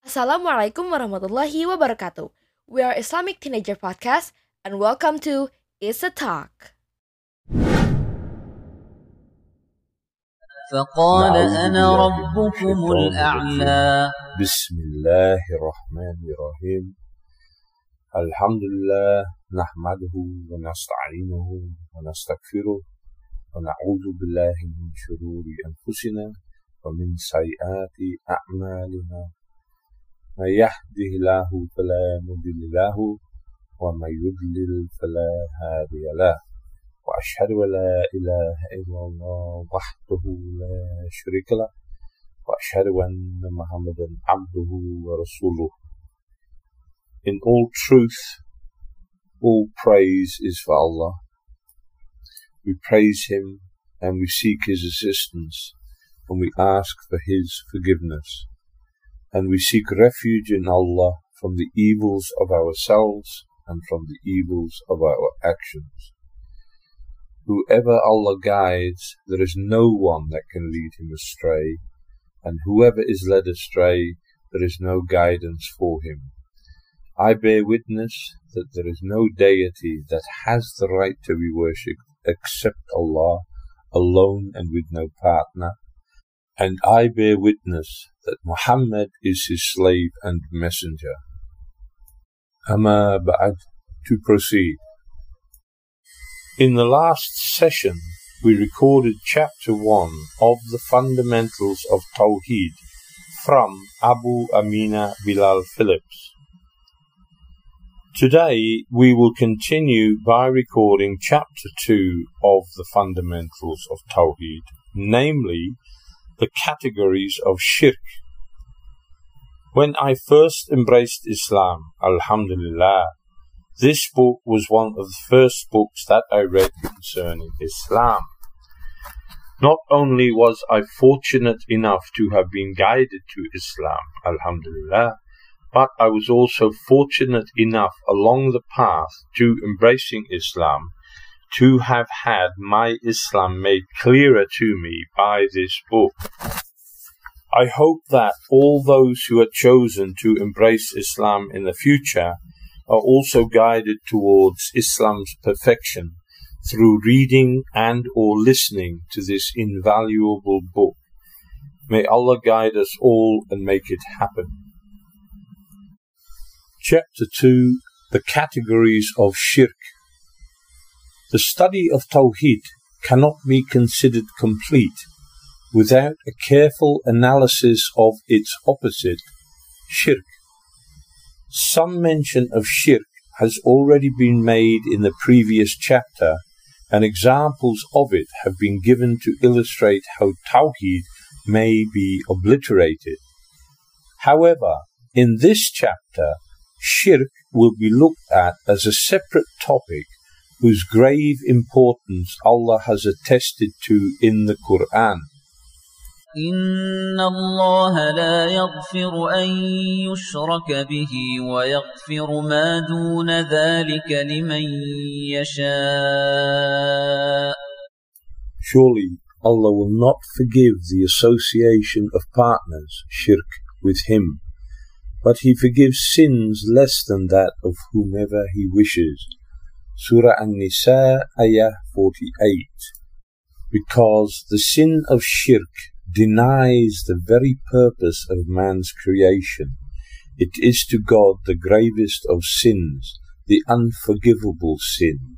Assalamualaikum warahmatullahi wabarakatuh. We are Islamic Teenager Podcast and welcome to It's a Talk. فقال أنا ربكم الأعلى. بسم الله الرحمن الرحيم. الحمد لله نحمده ونستعينه ونستغفره ونعوذ بالله من شرور أنفسنا ومن سيئات أعمالنا. من يهده الله فلا مضل له ومن يضلل فلا هادي له. وأشهد أن لا إله إلا الله وحده لا شريك له وأشهد أن محمدا عبده ورسوله. In all truth, all praise is for Allah. We praise Him and we seek His assistance and we ask for His forgiveness. And we seek refuge in Allah from the evils of ourselves and from the evils of our actions. Whoever Allah guides, there is no one that can lead him astray, and whoever is led astray, there is no guidance for him. I bear witness that there is no deity that has the right to be worshipped except Allah, alone and with no partner. And I bear witness that Muhammad is his slave and messenger. Amma ba'd, to proceed. In the last session, we recorded chapter 1 of the fundamentals of Tawheed from Abu Amina Bilal Phillips. Today, we will continue by recording chapter 2 of the fundamentals of Tawheed, namely, the categories of shirk. When I first embraced Islam, Alhamdulillah, this book was one of the first books that I read concerning Islam. Not only was I fortunate enough to have been guided to Islam, Alhamdulillah, but I was also fortunate enough along the path to embracing Islam to have had my Islam made clearer to me by this book. I hope that all those who are chosen to embrace Islam in the future are also guided towards Islam's perfection through reading and or listening to this invaluable book. May Allah guide us all and make it happen. Chapter 2, the categories of shirk. The study of Tawheed cannot be considered complete without a careful analysis of its opposite, shirk. Some mention of shirk has already been made in the previous chapter, and examples of it have been given to illustrate how Tawheed may be obliterated. However, in this chapter, shirk will be looked at as a separate topic whose grave importance Allah has attested to in the Quran. إن الله لا يغفر أن يشرك به ويغفر ما دون ذلك لمن يشاء. Surely Allah will not forgive the association of partners, shirk, with Him, but He forgives sins less than that of whomever He wishes. Surah An-Nisa, Ayah 48. Because the sin of shirk denies the very purpose of man's creation. It is to God the gravest of sins, the unforgivable sin.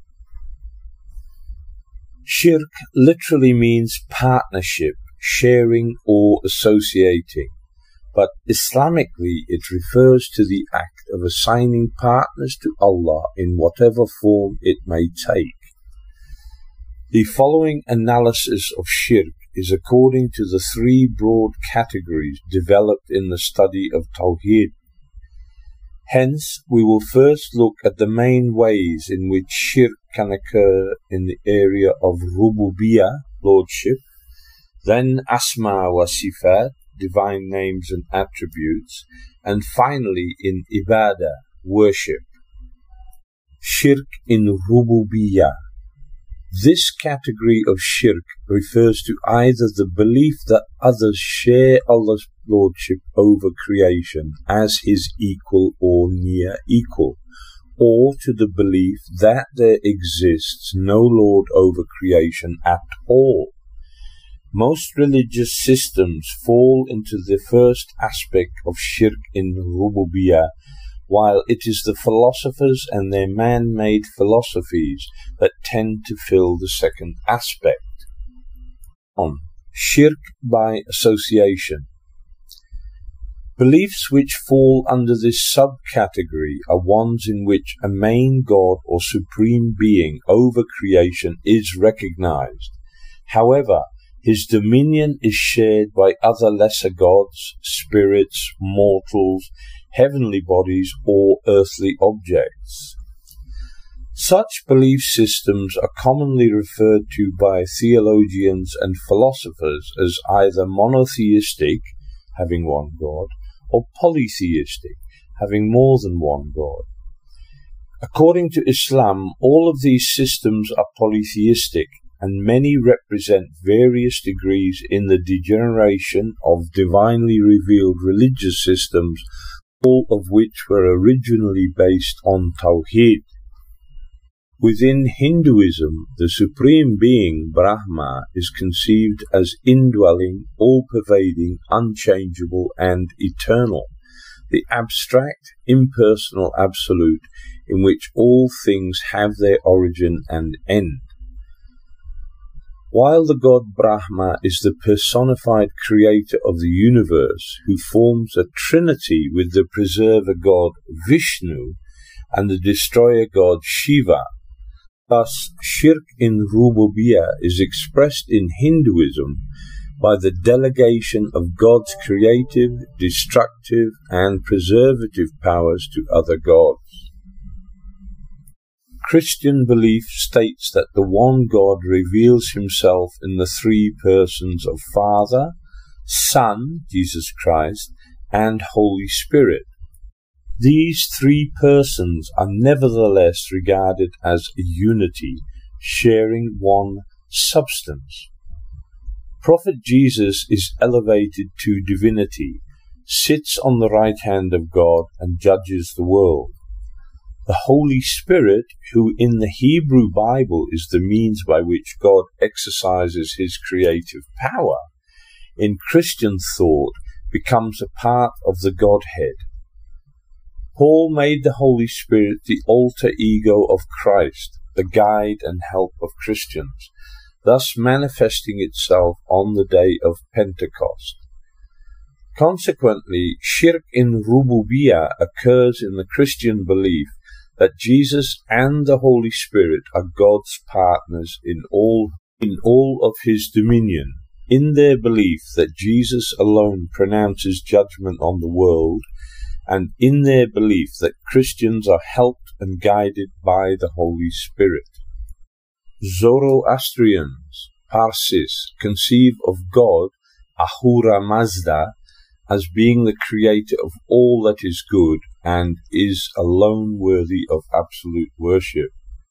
Shirk literally means partnership, sharing or associating, but Islamically it refers to the act of assigning partners to Allah in whatever form it may take. The following analysis of shirk is according to the three broad categories developed in the study of Tawheed. Hence, we will first look at the main ways in which shirk can occur in the area of Rububiyyah, Lordship, then Asma wa Sifat, divine names and attributes, and finally in Ibadah, worship. Shirk in Rububiyyah. This category of shirk refers to either the belief that others share Allah's lordship over creation as his equal or near equal, or to the belief that there exists no Lord over creation at all. Most religious systems fall into the first aspect of shirk in rububiyyah, while it is the philosophers and their man-made philosophies that tend to fill the second aspect. On shirk by association. Beliefs which fall under this subcategory are ones in which a main god or supreme being over creation is recognized. However, his dominion is shared by other lesser gods, spirits, mortals, heavenly bodies, or earthly objects. Such belief systems are commonly referred to by theologians and philosophers as either monotheistic, having one god, or polytheistic, having more than one god. According to Islam, all of these systems are polytheistic, and many represent various degrees in the degeneration of divinely revealed religious systems, all of which were originally based on Tawheed. Within Hinduism, the Supreme Being, Brahma, is conceived as indwelling, all-pervading, unchangeable, and eternal, the abstract, impersonal absolute in which all things have their origin and end. While the god Brahma is the personified creator of the universe, who forms a trinity with the preserver god Vishnu and the destroyer god Shiva, thus shirk in rububiyyah is expressed in Hinduism by the delegation of God's creative, destructive, and preservative powers to other gods. Christian belief states that the one God reveals himself in the three persons of Father, Son, Jesus Christ, and Holy Spirit. These three persons are nevertheless regarded as a unity, sharing one substance. Prophet Jesus is elevated to divinity, sits on the right hand of God, and judges the world. The Holy Spirit, who in the Hebrew Bible is the means by which God exercises his creative power, in Christian thought becomes a part of the Godhead. Paul made the Holy Spirit the alter ego of Christ, the guide and help of Christians, thus manifesting itself on the day of Pentecost. Consequently, shirk in rububiyyah occurs in the Christian belief that Jesus and the Holy Spirit are God's partners in all of his dominion, in their belief that Jesus alone pronounces judgment on the world, and in their belief that Christians are helped and guided by the Holy Spirit. Zoroastrians, Parsis, conceive of God, Ahura Mazda, as being the creator of all that is good and is alone worthy of absolute worship.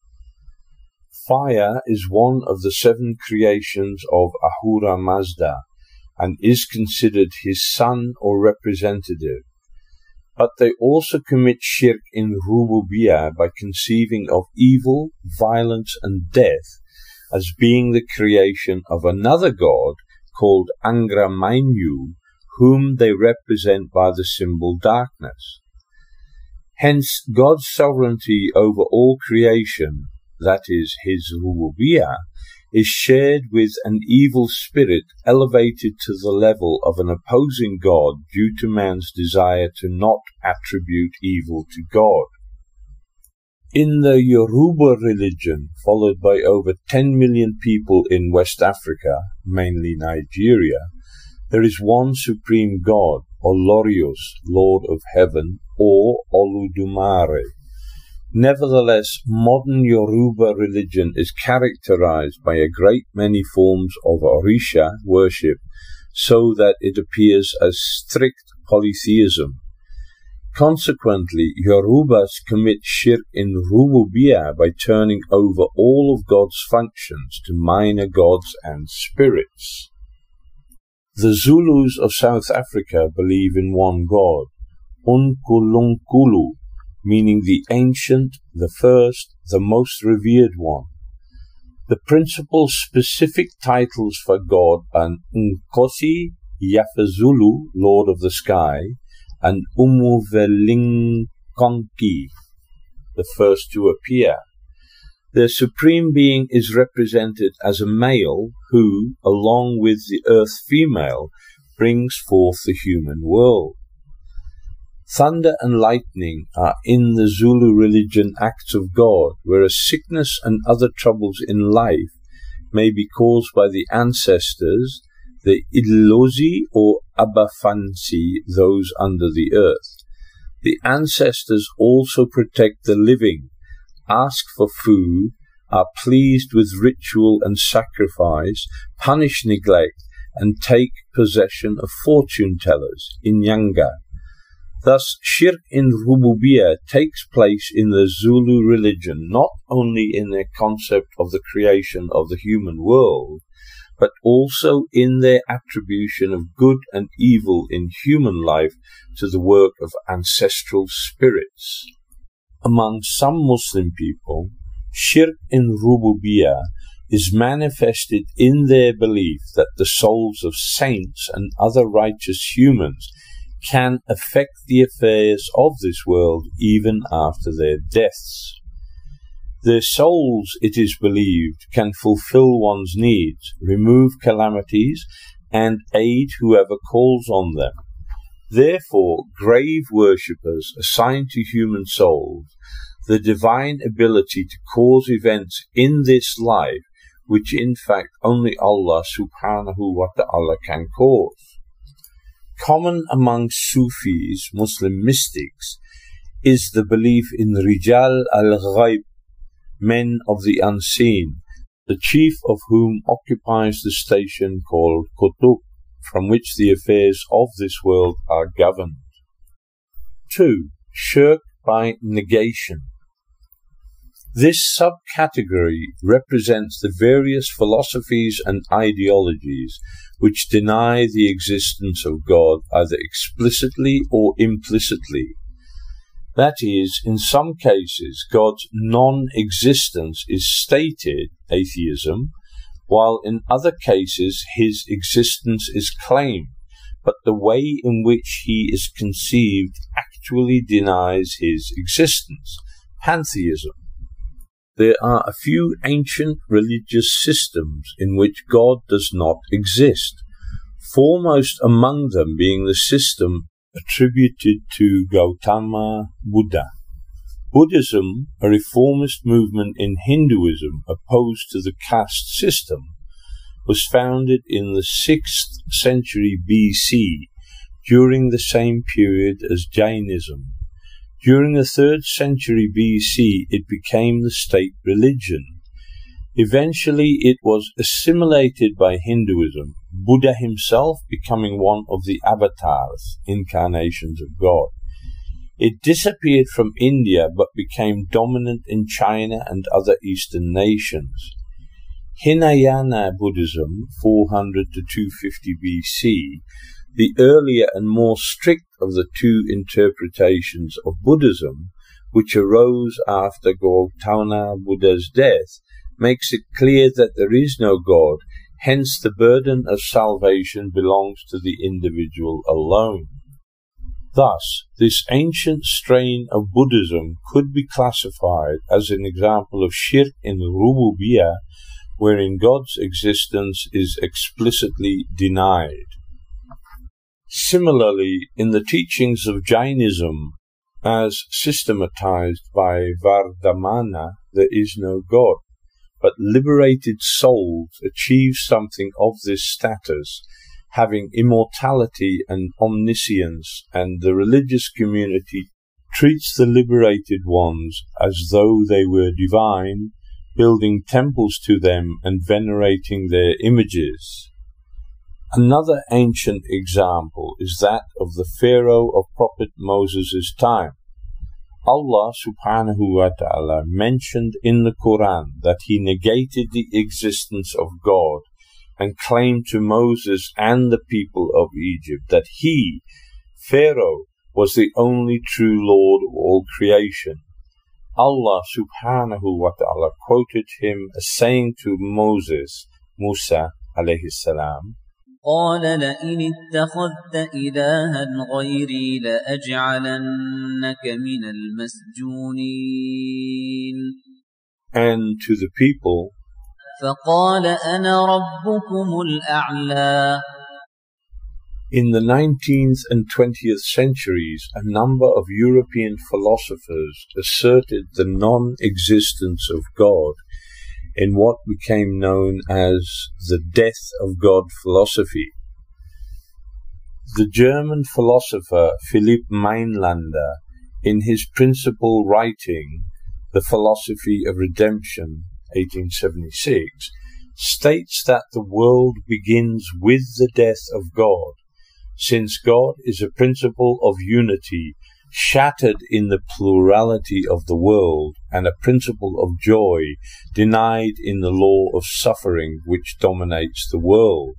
Fire is one of the 7 creations of Ahura Mazda and is considered his son or representative. But they also commit shirk in rububiyyah by conceiving of evil, violence, and death as being the creation of another god called Angra Mainyu, whom they represent by the symbol darkness. Hence, God's sovereignty over all creation, that is, his rububiyyah, is shared with an evil spirit elevated to the level of an opposing God due to man's desire to not attribute evil to God. In the Yoruba religion, followed by over 10 million people in West Africa, mainly Nigeria, there is one supreme God, Olorius, Lord of Heaven, or Oludumare. Nevertheless, modern Yoruba religion is characterized by a great many forms of Orisha worship, so that it appears as strict polytheism. Consequently, Yorubas commit shirk in rububiyyah by turning over all of God's functions to minor gods and spirits. The Zulus of South Africa believe in one God, Unkulunkulu, meaning the ancient, the first, the most revered one. The principal specific titles for God are Nkosi Yafazulu, Lord of the Sky, and Umuvelinkonki, the first to appear. The Supreme Being is represented as a male who, along with the earth female, brings forth the human world. Thunder and lightning are in the Zulu religion acts of God, whereas sickness and other troubles in life may be caused by the ancestors, the Idlozi or Abafansi, those under the earth. The ancestors also protect the living, ask for food, are pleased with ritual and sacrifice, punish neglect, and take possession of fortune-tellers, Inyanga. Thus, shirk in Rububiyya takes place in the Zulu religion not only in their concept of the creation of the human world, but also in their attribution of good and evil in human life to the work of ancestral spirits. Among some Muslim people, shirk in Rububiyya is manifested in their belief that the souls of saints and other righteous humans can affect the affairs of this world even after their deaths. Their souls, it is believed, can fulfill one's needs, remove calamities, and aid whoever calls on them. Therefore, grave worshippers assign to human souls the divine ability to cause events in this life which in fact only Allah subhanahu wa ta'ala can cause. Common among Sufis, Muslim mystics, is the belief in Rijal al-Ghaib, men of the unseen, the chief of whom occupies the station called Qutub, from which the affairs of this world are governed. 2. Shirk by negation. This subcategory represents the various philosophies and ideologies which deny the existence of God either explicitly or implicitly. That is, in some cases, God's non-existence is stated, atheism, while in other cases his existence is claimed, but the way in which he is conceived actually denies his existence, pantheism. There are a few ancient religious systems in which God does not exist, foremost among them being the system attributed to Gautama Buddha. Buddhism, a reformist movement in Hinduism opposed to the caste system, was founded in the 6th century BC, during the same period as Jainism. During the 3rd century BC, it became the state religion. Eventually, it was assimilated by Hinduism, Buddha himself becoming one of the avatars, incarnations of God. It disappeared from India but became dominant in China and other Eastern nations. Hinayana Buddhism, 400 to 250 BC, the earlier and more strict of the two interpretations of Buddhism, which arose after Gautama Buddha's death, makes it clear that there is no God, hence the burden of salvation belongs to the individual alone. Thus, this ancient strain of Buddhism could be classified as an example of shirk in Rububiyya, wherein God's existence is explicitly denied. Similarly, in the teachings of Jainism, as systematized by Vardhamana, there is no God, but liberated souls achieve something of this status, having immortality and omniscience, and the religious community treats the liberated ones as though they were divine, building temples to them and venerating their images. Another ancient example is that of the Pharaoh of Prophet Moses' time. Allah subhanahu wa ta'ala mentioned in the Quran that he negated the existence of God and claimed to Moses and the people of Egypt that he, Pharaoh, was the only true Lord of all creation. Allah subhanahu wa ta'ala quoted him as saying to Musa alayhi salam, قال لئن اتخذت إلها غيري لأجعلنك من المسجونين. And to the people, فقال أنا ربكم الأعلى. In the 19th and 20th centuries, a number of European philosophers asserted the non-existence of God in what became known as the death of God philosophy. The German philosopher Philipp Meinlander, in his principal writing, The Philosophy of Redemption, 1876, states that the world begins with the death of God, since God is a principle of unity shattered in the plurality of the world, and a principle of joy denied in the law of suffering which dominates the world.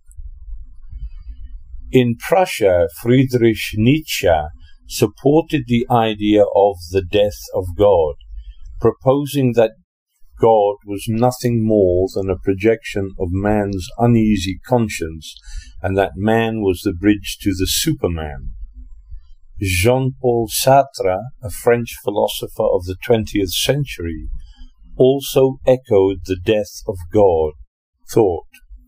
In Prussia, Friedrich Nietzsche supported the idea of the death of God, proposing that God was nothing more than a projection of man's uneasy conscience, and that man was the bridge to the Superman. Jean-Paul Sartre, a French philosopher of the 20th century, also echoed the death of God thought.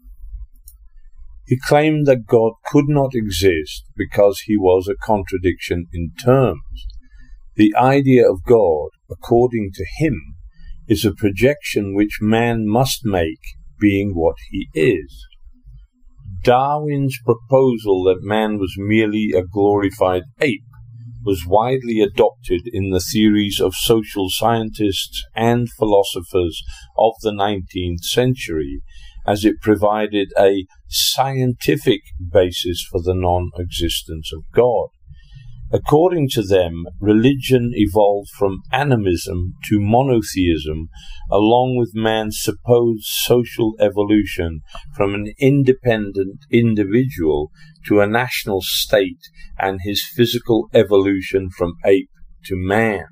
He claimed that God could not exist because he was a contradiction in terms. The idea of God, according to him, is a projection which man must make, being what he is. Darwin's proposal that man was merely a glorified ape was widely adopted in the theories of social scientists and philosophers of the 19th century, as it provided a scientific basis for the non-existence of God. According to them, religion evolved from animism to monotheism, along with man's supposed social evolution from an independent individual to a national state, and his physical evolution from ape to man.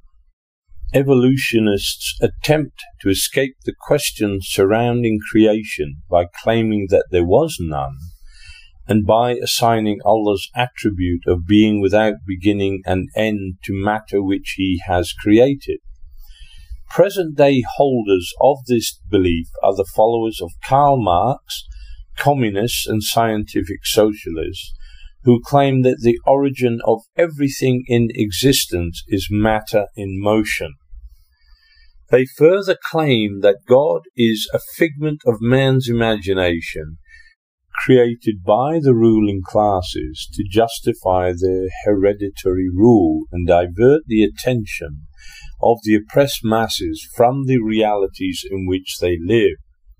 Evolutionists attempt to escape the questions surrounding creation by claiming that there was none, and by assigning Allah's attribute of being without beginning and end to matter which he has created. Present-day holders of this belief are the followers of Karl Marx, communists and scientific socialists, who claim that the origin of everything in existence is matter in motion. They further claim that God is a figment of man's imagination, created by the ruling classes to justify their hereditary rule and divert the attention of the oppressed masses from the realities in which they live.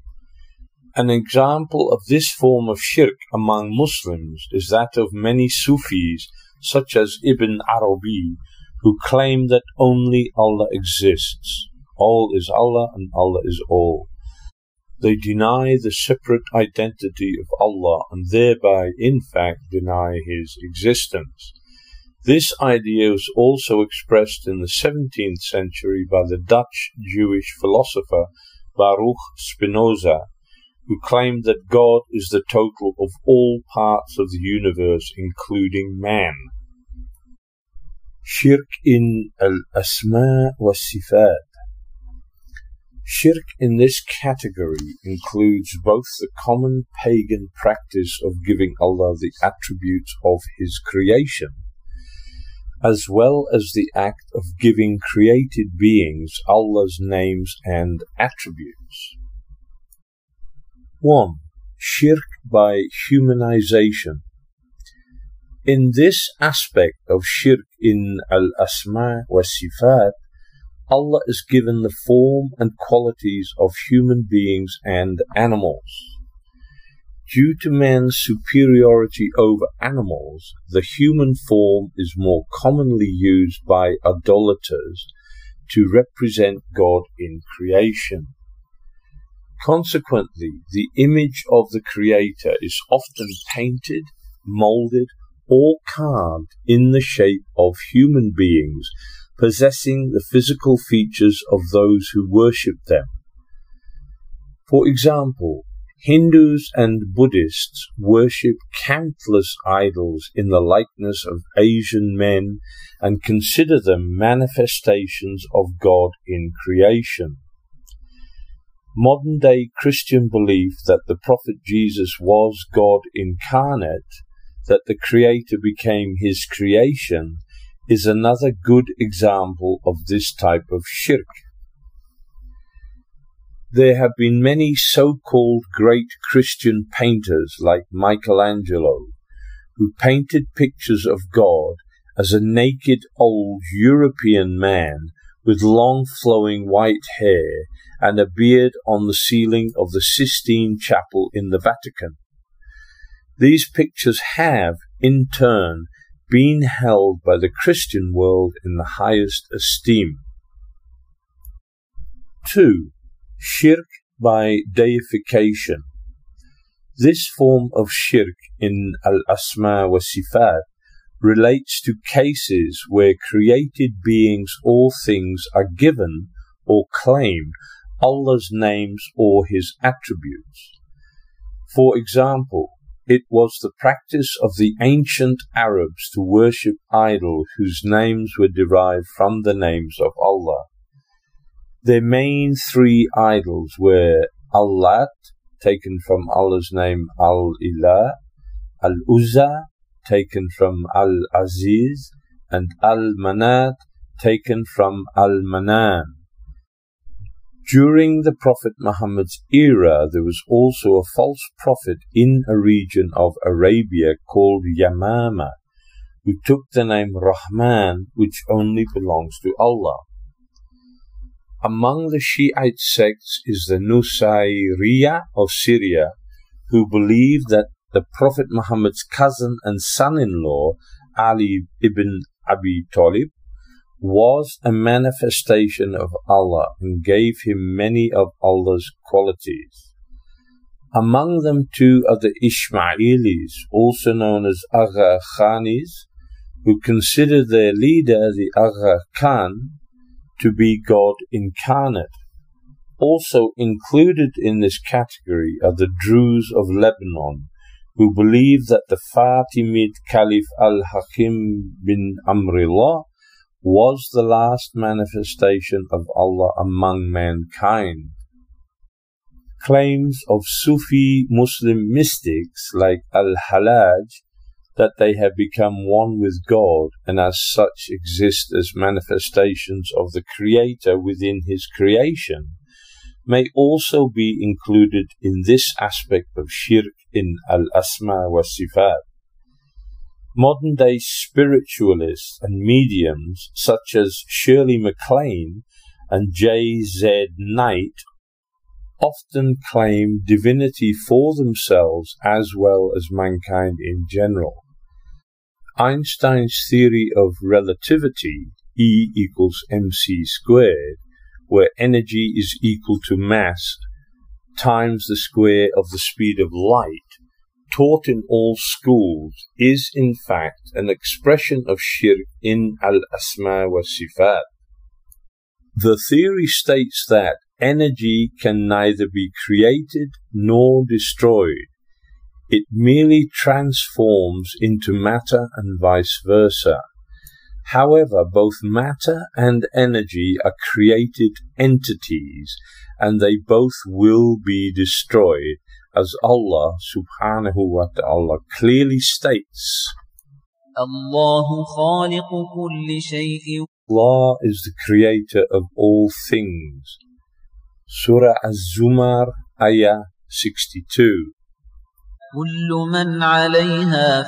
An example of this form of shirk among Muslims is that of many Sufis, such as Ibn Arabi, who claim that only Allah exists. All is Allah and Allah is all. They deny the separate identity of Allah and thereby, in fact, deny His existence. This idea was also expressed in the 17th century by the Dutch Jewish philosopher Baruch Spinoza, who claimed that God is the total of all parts of the universe, including man. Shirk in al-Asma wa Sifat. Shirk in this category includes both the common pagan practice of giving Allah the attributes of His creation, as well as the act of giving created beings Allah's names and attributes. 1. Shirk by humanization. In this aspect of shirk in al-Asma wa Sifat, Allah is given the form and qualities of human beings and animals. Due to man's superiority over animals, the human form is more commonly used by idolaters to represent God in creation. Consequently, the image of the Creator is often painted, molded, or carved in the shape of human beings possessing the physical features of those who worship them. For example, Hindus and Buddhists worship countless idols in the likeness of Asian men and consider them manifestations of God in creation. Modern-day Christian belief that the Prophet Jesus was God incarnate, that the Creator became His creation, is another good example of this type of shirk. There have been many so-called great Christian painters like Michelangelo, who painted pictures of God as a naked old European man with long flowing white hair and a beard on the ceiling of the Sistine Chapel in the Vatican. These pictures have, in turn, been held by the Christian world in the highest esteem. 2. Shirk by deification. This form of shirk in Al-Asma wa Sifat relates to cases where created beings or things are given or claim Allah's names or His attributes. For example, it was the practice of the ancient Arabs to worship idols whose names were derived from the names of Allah. Their main three idols were Al-Lat, taken from Allah's name Al-Ilah, Al-Uzza, taken from Al-Aziz, and Al-Manat, taken from Al-Manan. During the Prophet Muhammad's era, there was also a false prophet in a region of Arabia called Yamama, who took the name Rahman, which only belongs to Allah. Among the Shiite sects is the Nusayriyah of Syria, who believe that the Prophet Muhammad's cousin and son-in-law, Ali ibn Abi Talib, was a manifestation of Allah and gave him many of Allah's qualities. Among them too are the Ismailis, also known as Agha Khanis, who consider their leader, the Agha Khan, to be God incarnate. Also included in this category are the Druze of Lebanon, who believe that the Fatimid Caliph al-Hakim bin Amrillah was the last manifestation of Allah among mankind. Claims of Sufi Muslim mystics like Al-Hallaj that they have become one with God and as such exist as manifestations of the Creator within His creation may also be included in this aspect of shirk in Al-Asma wa Sifat. Modern-day spiritualists and mediums such as Shirley MacLaine and J.Z. Knight often claim divinity for themselves as well as mankind in general. Einstein's theory of relativity, E equals mc squared, where energy is equal to mass times the square of the speed of light, taught in all schools, is in fact an expression of shirk in Al-Asma wa Sifat. The theory states that energy can neither be created nor destroyed. It merely transforms into matter and vice versa. However, both matter and energy are created entities, and they both will be destroyed, as Allah subhanahu wa ta'ala clearly states. Allahu khaliqu kulli shay'in. Allah is the creator of all things. Surah Az-Zumar, Ayah 62. Kullu man 'alayha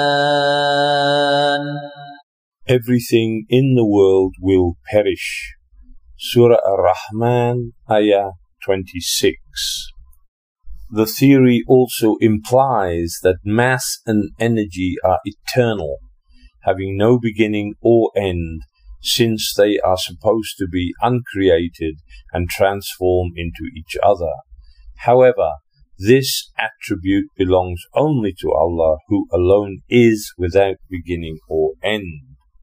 fan. Everything in the world will perish. Surah Ar-Rahman, Ayah 26. The theory also implies that mass and energy are eternal, having no beginning or end, since they are supposed to be uncreated and transform into each other. However, this attribute belongs only to Allah, who alone is without beginning or end.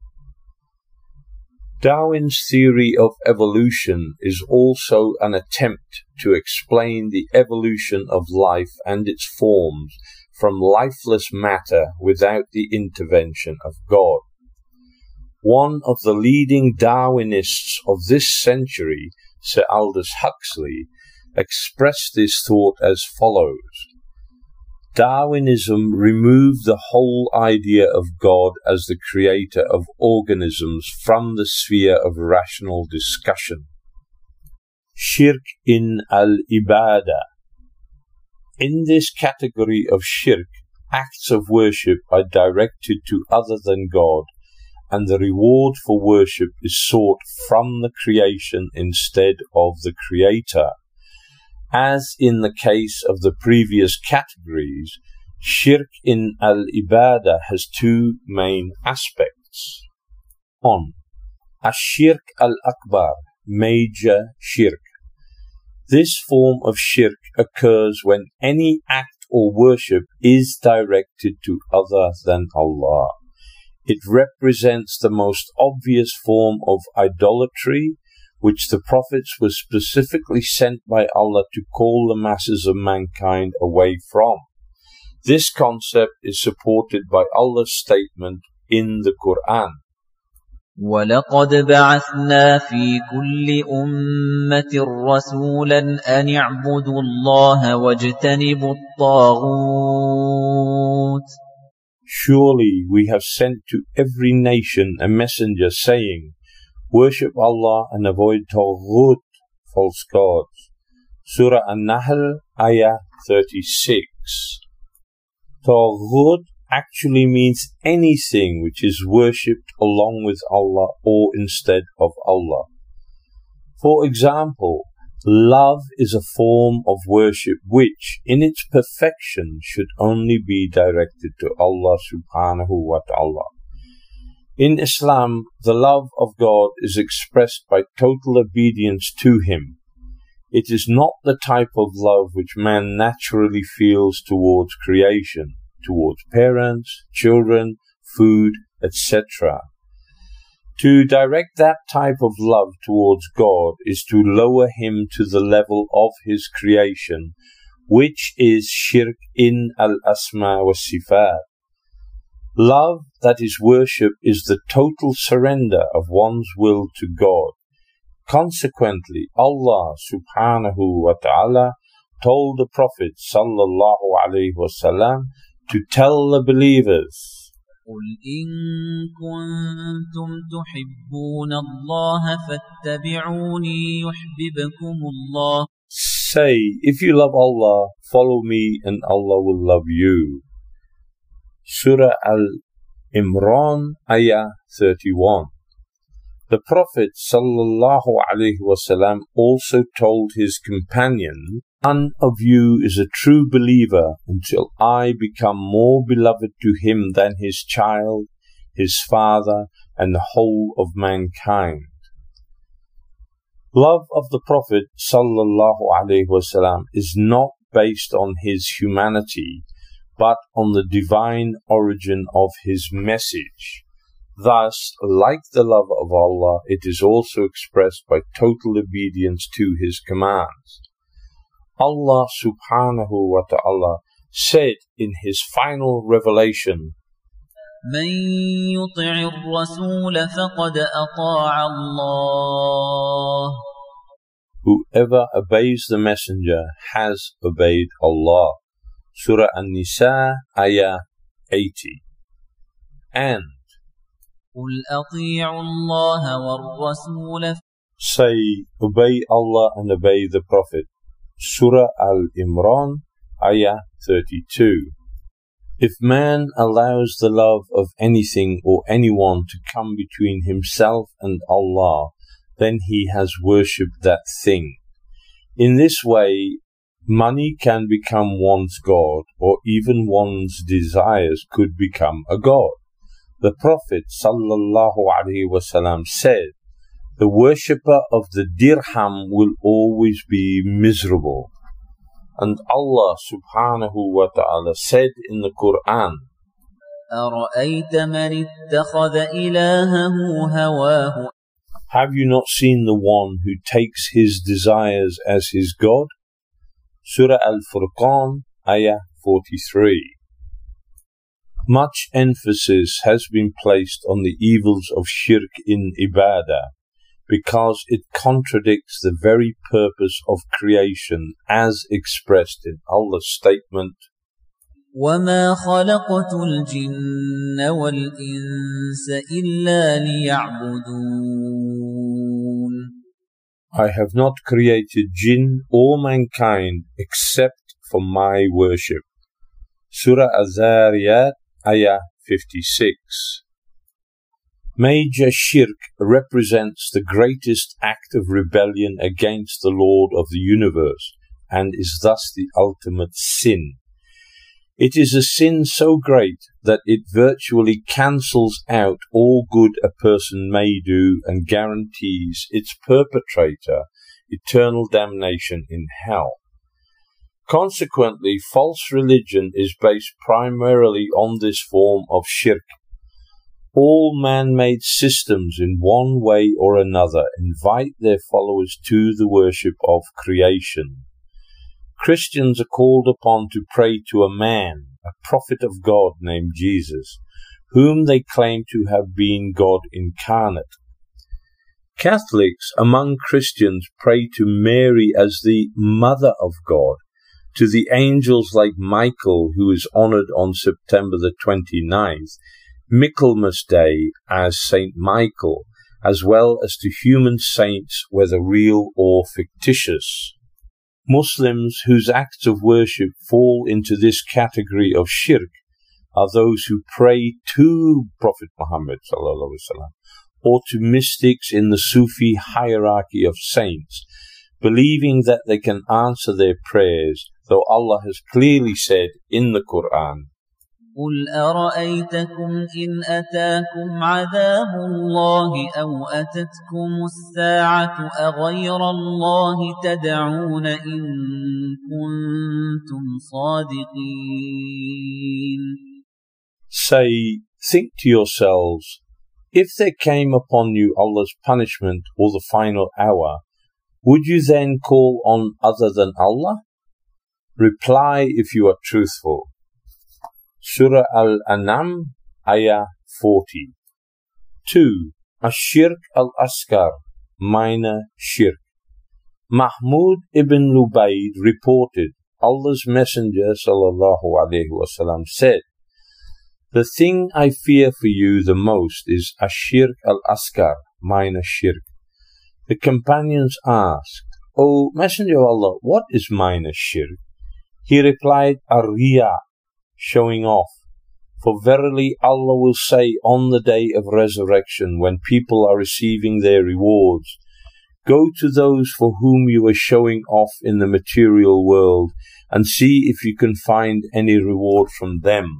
Darwin's theory of evolution is also an attempt to explain the evolution of life and its forms from lifeless matter without the intervention of God. One of the leading Darwinists of this century, Sir Aldous Huxley, expressed this thought as follows: Darwinism removed the whole idea of God as the creator of organisms from the sphere of rational discussion. Shirk in al-ibadah. In this category of shirk, acts of worship are directed to other than God, and the reward for worship is sought from the creation instead of the creator. As in the case of the previous categories, shirk in al-ibadah has two main aspects. 1. Ash-shirk al-akbar, major shirk. This form of shirk occurs when any act or worship is directed to other than Allah. It represents the most obvious form of idolatry, which the prophets were specifically sent by Allah to call the masses of mankind away from. This concept is supported by Allah's statement in the Quran. وَلَقَدْ بَعَثْنَا فِي كُلِّ أُمَّةٍ رَسُولًا أَنِ اعْبُدُوا اللَّهَ وَاجْتَنِبُوا الطَّاغُوتَ. Surely we have sent to every nation a messenger saying, worship Allah and avoid Taghut, false gods. Surah An-Nahl, Ayah 36. Taghut actually means anything which is worshipped along with Allah or instead of Allah. For example, love is a form of worship which, in its perfection, should only be directed to Allah subhanahu wa ta'ala. In Islam, the love of God is expressed by total obedience to Him. It is not the type of love which man naturally feels towards creation, towards parents, children, food, etc. To direct that type of love towards God is to lower Him to the level of His creation, which is shirk in al-asma wa sifat. Love, that is worship, is the total surrender of one's will to God. Consequently, Allah subhanahu wa ta'ala told the Prophet sallallahu alayhi wa sallam to tell the believers, قُلْ إِن كُنتُمْ تُحِبُّونَ اللَّهَ فَاتَّبِعُونِي يُحْبِبْكُمُ اللَّهُ. Say, if you love Allah, follow me and Allah will love you. Surah Al-Imran, Ayah 31. The Prophet sallallahu alaihi wasallam also told his companion, none of you is a true believer until I become more beloved to him than his child, his father, and the whole of mankind. Love of the Prophet sallallahu alaihi wasallam is not based on his humanity, but on the divine origin of his message. Thus, like the love of Allah, it is also expressed by total obedience to His commands. Allah subhanahu wa ta'ala said in His final revelation, مَن يُطِعِ الرَّسُولَ فَقَدْ أَطَاعَ اللَّهَ. Whoever obeys the messenger has obeyed Allah. Surah An-Nisa, Ayah 80. And قُلْ أَطِيعُوا اللَّهَ وَالرَّسُولَ. Say, obey Allah and obey the Prophet. Surah Al-Imran, Ayah 32. If man allows the love of anything or anyone to come between himself and Allah, then he has worshipped that thing. In this way, money can become one's God, or even one's desires could become a God. The Prophet sallallahu alaihi wasallam said, the worshipper of the dirham will always be miserable. And Allah subhanahu wa ta'ala said in the Quran, أَرَأَيْتَ مَنِ اتَّخَذَ إِلَهَهُ هَوَاهُ. Have you not seen the one who takes his desires as his God? Surah Al-Furqan, Ayah 43. Much emphasis has been placed on the evils of shirk in ibadah, because it contradicts the very purpose of creation as expressed in Allah's statement, وَمَا خَلَقْتُ الْجِنَّ وَالْإِنسَ إِلَّا لِيَعْبُدُونَ. I have not created jinn or mankind except for my worship. Surah Az-Zariyat, Ayah 56. Major shirk represents the greatest act of rebellion against the Lord of the universe and is thus the ultimate sin. It is a sin so great that it virtually cancels out all good a person may do and guarantees its perpetrator eternal damnation in hell. Consequently, false religion is based primarily on this form of shirk. All man-made systems in one way or another invite their followers to the worship of creation. Christians are called upon to pray to a man, a prophet of God named Jesus, whom they claim to have been God incarnate. Catholics among Christians pray to Mary as the Mother of God, to the angels like Michael, who is honored on September the 29th, Michaelmas Day as Saint Michael, as well as to human saints, whether real or fictitious. Muslims whose acts of worship fall into this category of shirk are those who pray to Prophet Muhammad or to mystics in the Sufi hierarchy of saints, believing that they can answer their prayers, though Allah has clearly said in the Quran, قُلْ أَرَأَيْتَكُمْ إِنْ أَتَاكُمْ عَذَابُ اللَّهِ أَوْ أَتَتْكُمُ السَّاعَةُ أَغَيْرَ اللَّهِ تَدْعُونَ إِن كُنتُمْ صَادِقِينَ. Say, think to yourselves, if there came upon you Allah's punishment or the final hour, would you then call on other than Allah? Reply if you are truthful. Surah Al-An'am, Ayah 40. 2. Ash-Shirk al-Asghar, minor shirk. Mahmud ibn Lubayd reported, Allah's Messenger ﷺ said, the thing I fear for you the most is Ash-Shirk al-Asghar, minor shirk. The companions asked, O Messenger of Allah, what is minor shirk? He replied, Ar-Riya, showing off. For verily Allah will say on the day of resurrection, when people are receiving their rewards, go to those for whom you are showing off in the material world, and see if you can find any reward from them.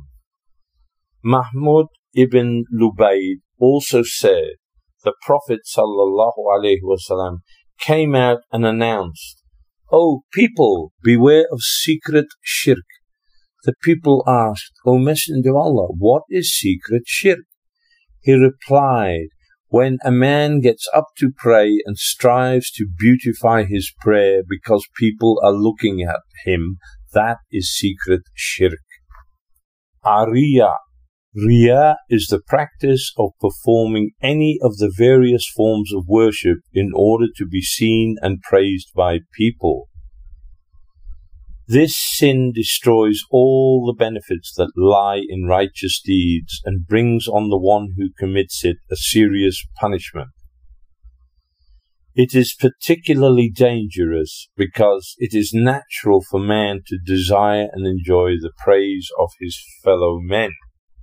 Mahmud ibn Lubayd also said, the Prophet ﷺ came out and announced, O people, beware of secret shirk. The people asked, O Messenger of Allah, what is secret shirk? He replied, when a man gets up to pray and strives to beautify his prayer because people are looking at him, that is secret shirk. Ariya. Riya is the practice of performing any of the various forms of worship in order to be seen and praised by people. This sin destroys all the benefits that lie in righteous deeds and brings on the one who commits it a serious punishment. It is particularly dangerous because it is natural for man to desire and enjoy the praise of his fellow men.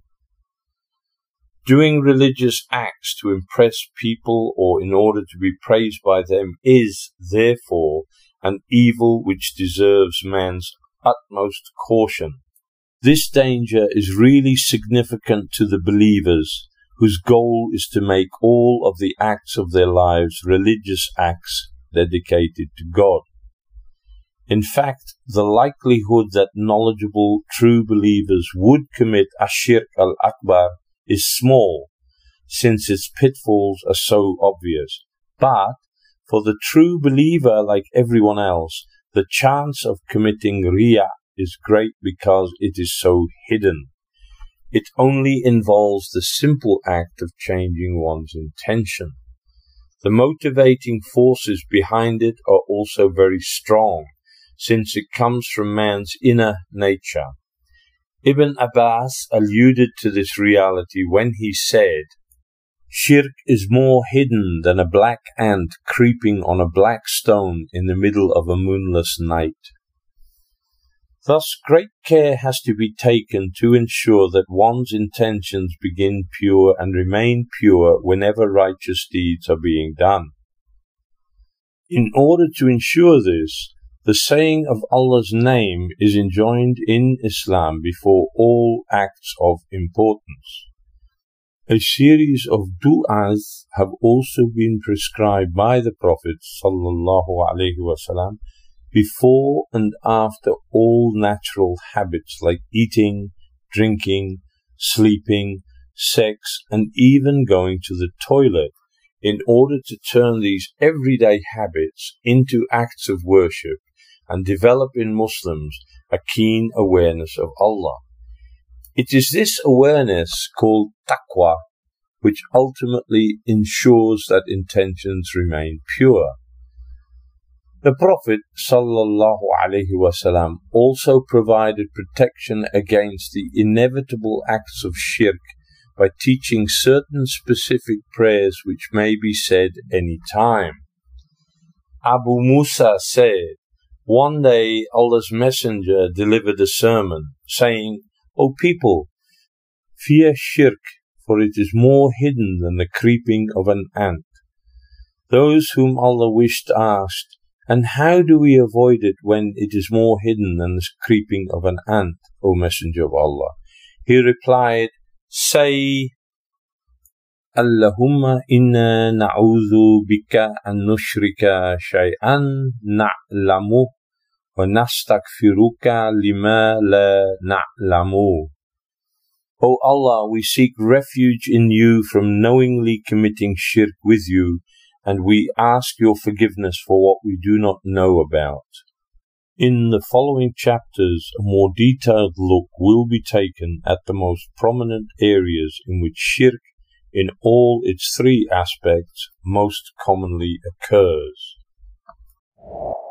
Doing religious acts to impress people or in order to be praised by them is, therefore, an evil which deserves man's utmost caution. This danger is really significant to the believers, whose goal is to make all of the acts of their lives religious acts dedicated to God. In fact, the likelihood that knowledgeable true believers would commit Ashirk al-Akbar is small, since its pitfalls are so obvious. But for the true believer, like everyone else, the chance of committing Riya is great because it is so hidden. It only involves the simple act of changing one's intention. The motivating forces behind it are also very strong, since it comes from man's inner nature. Ibn Abbas alluded to this reality when he said, "Shirk is more hidden than a black ant creeping on a black stone in the middle of a moonless night." Thus, great care has to be taken to ensure that one's intentions begin pure and remain pure whenever righteous deeds are being done. In order to ensure this, the saying of Allah's name is enjoined in Islam before all acts of importance. A series of du'as have also been prescribed by the Prophet ﷺ before and after all natural habits like eating, drinking, sleeping, sex, and even going to the toilet, in order to turn these everyday habits into acts of worship and develop in Muslims a keen awareness of Allah. It is this awareness, called taqwa, which ultimately ensures that intentions remain pure. The Prophet ﷺ also provided protection against the inevitable acts of shirk by teaching certain specific prayers which may be said any time. Abu Musa said, "One day Allah's Messenger delivered a sermon, saying, 'O people, fear shirk, for it is more hidden than the creeping of an ant.' Those whom Allah wished asked, 'And how do we avoid it when it is more hidden than the creeping of an ant, O Messenger of Allah?' He replied, 'Say, Allahumma inna na'udhu bika an nushrika shay'an na'lamu wa nastaghfiruka lima la na'lamu.' O Allah, we seek refuge in you from knowingly committing shirk with you, and we ask your forgiveness for what we do not know about." In the following chapters, a more detailed look will be taken at the most prominent areas in which shirk, in all its three aspects, most commonly occurs.